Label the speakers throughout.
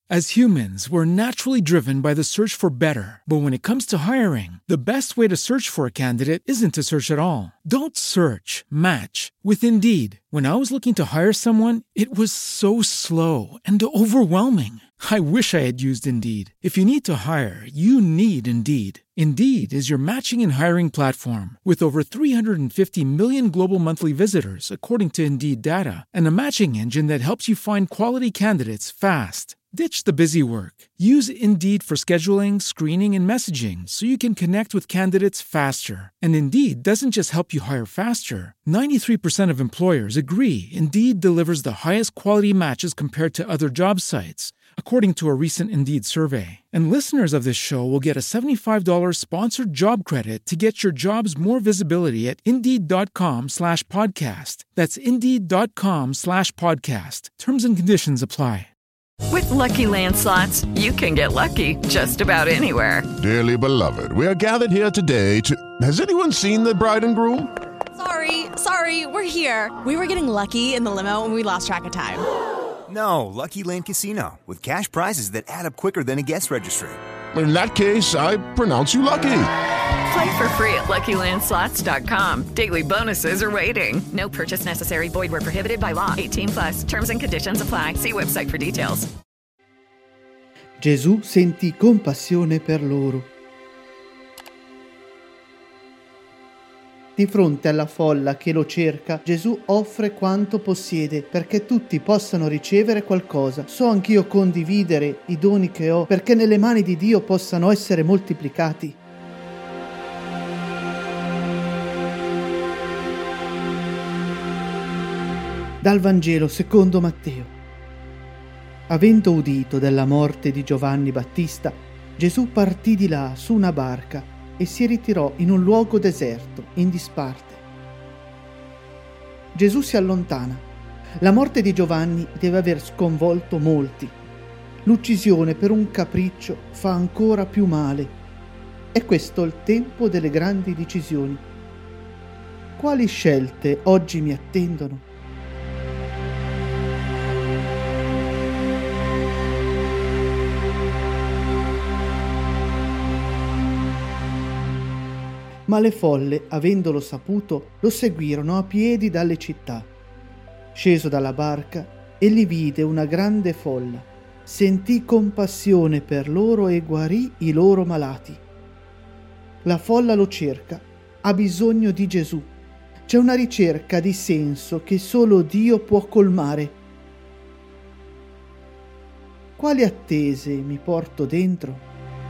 Speaker 1: As humans, we're naturally driven by the search for better. But when it comes to hiring, the best way to search for a candidate isn't to search at all. Don't search, match with Indeed. When I was looking to hire someone, it was so slow and overwhelming. I wish I had used Indeed. If you need to hire, you need Indeed. Indeed is your matching and hiring platform with over 350 million global monthly visitors, according to Indeed data, and a matching engine that helps you find quality candidates fast. Ditch the busy work. Use Indeed for scheduling, screening, and messaging so you can connect with candidates faster. And Indeed doesn't just help you hire faster. 93% of employers agree Indeed delivers the highest quality matches compared to other job sites, according to a recent Indeed survey. And listeners of this show will get a $75 sponsored job credit to get your jobs more visibility at Indeed.com/podcast. That's Indeed.com/podcast. Terms and conditions apply.
Speaker 2: With Lucky Land Slots, you can get lucky just about anywhere.
Speaker 3: Dearly beloved, we are gathered here today to... Has anyone seen the bride and groom?
Speaker 4: Sorry, we're here. We were getting lucky in the limo and we lost track of time.
Speaker 5: No, Lucky Land Casino, with cash prizes that add up quicker than a guest registry.
Speaker 3: In that case, I pronounce you lucky.
Speaker 2: Play for free at LuckyLandSlots.com. Daily bonuses are waiting. No purchase necessary. Void where prohibited by law. 18+. Terms and conditions apply. See website for details.
Speaker 6: Gesù sentì compassione per loro. Di fronte alla folla che lo cerca, Gesù offre quanto possiede perché tutti possano ricevere qualcosa. So anch'io condividere i doni che ho perché nelle mani di Dio possano essere moltiplicati. Dal Vangelo secondo Matteo. Avendo udito della morte di Giovanni Battista, Gesù partì di là su una barca e si ritirò in un luogo deserto, in disparte. Gesù si allontana. La morte di Giovanni deve aver sconvolto molti. L'uccisione per un capriccio fa ancora più male. È questo il tempo delle grandi decisioni. Quali scelte oggi mi attendono? Ma le folle, avendolo saputo, lo seguirono a piedi dalle città. Sceso dalla barca, egli vide una grande folla, sentì compassione per loro e guarì i loro malati. La folla lo cerca, ha bisogno di Gesù. C'è una ricerca di senso che solo Dio può colmare. Quali attese mi porto dentro?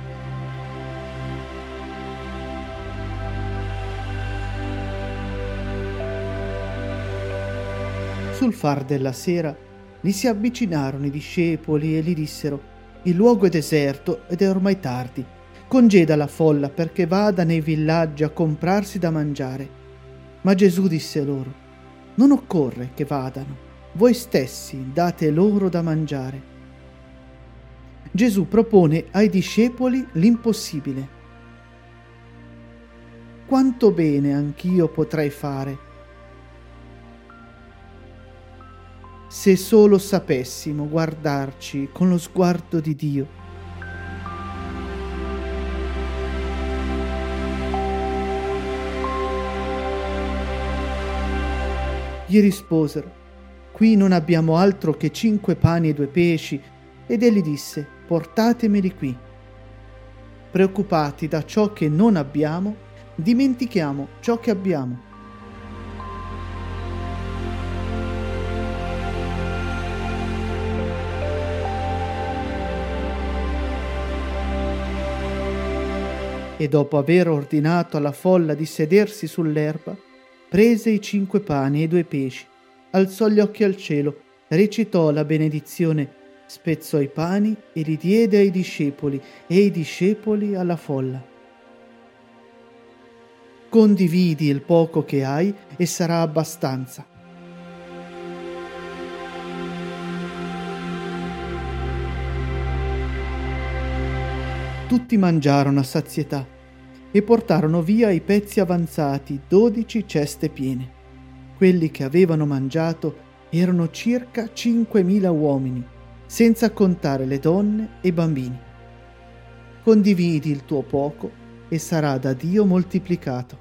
Speaker 6: Sul far della sera gli si avvicinarono i discepoli e gli dissero: il luogo è deserto ed è ormai tardi. Congeda la folla perché vada nei villaggi a comprarsi da mangiare. Ma Gesù disse loro: non occorre che vadano, voi stessi date loro da mangiare. Gesù propone ai discepoli l'impossibile. Quanto bene anch'io potrei fare se solo sapessimo guardarci con lo sguardo di Dio. Gli risposero: qui non abbiamo altro che 5 pani e 2 pesci. Ed egli disse: portatemeli qui. Preoccupati da ciò che non abbiamo, dimentichiamo ciò che abbiamo. E dopo aver ordinato alla folla di sedersi sull'erba, prese i 5 pani e 2 pesci, alzò gli occhi al cielo, recitò la benedizione, spezzò i pani e li diede ai discepoli e i discepoli alla folla. Condividi il poco che hai e sarà abbastanza. Tutti mangiarono a sazietà e portarono via i pezzi avanzati, 12 ceste piene. Quelli che avevano mangiato erano circa 5.000 uomini. senza contare le donne e i bambini. Condividi il tuo poco e sarà da Dio moltiplicato.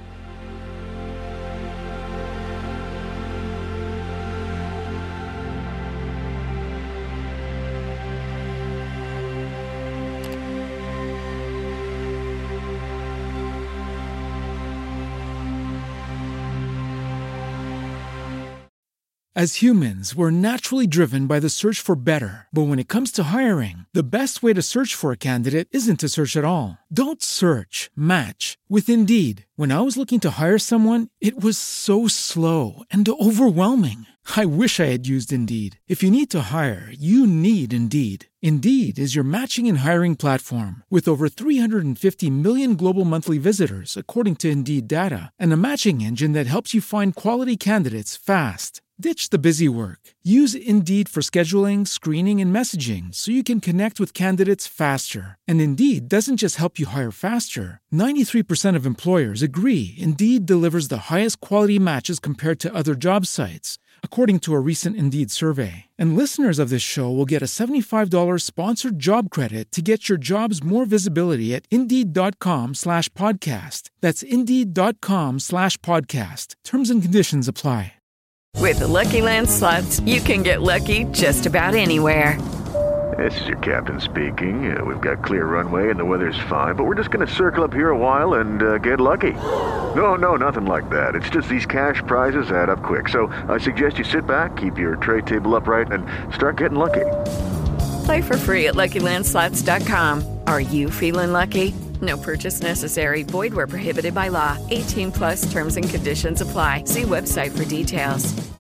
Speaker 1: As humans, we're naturally driven by the search for better. But when it comes to hiring, the best way to search for a candidate isn't to search at all. Don't search, match with Indeed. When I was looking to hire someone, it was so slow and overwhelming. I wish I had used Indeed. If you need to hire, you need Indeed. Indeed is your matching and hiring platform with over 350 million global monthly visitors, according to Indeed data, and a matching engine that helps you find quality candidates fast. Ditch the busy work. Use Indeed for scheduling, screening, and messaging so you can connect with candidates faster. And Indeed doesn't just help you hire faster. 93% of employers agree Indeed delivers the highest quality matches compared to other job sites, according to a recent Indeed survey. And listeners of this show will get a $75 sponsored job credit to get your jobs more visibility at Indeed.com/podcast. That's Indeed.com/podcast. Terms and conditions apply.
Speaker 2: With the Lucky Land Slots, you can get lucky just about anywhere.
Speaker 7: This is your captain speaking. We've got clear runway and the weather's fine, but we're just going to circle up here a while and get lucky. No, nothing like that. It's just these cash prizes add up quick. So I suggest you sit back, keep your tray table upright, and start getting lucky.
Speaker 2: Play for free at LuckyLandSlots.com. Are you feeling lucky? No purchase necessary. Void where prohibited by law. 18+ terms and conditions apply. See website for details.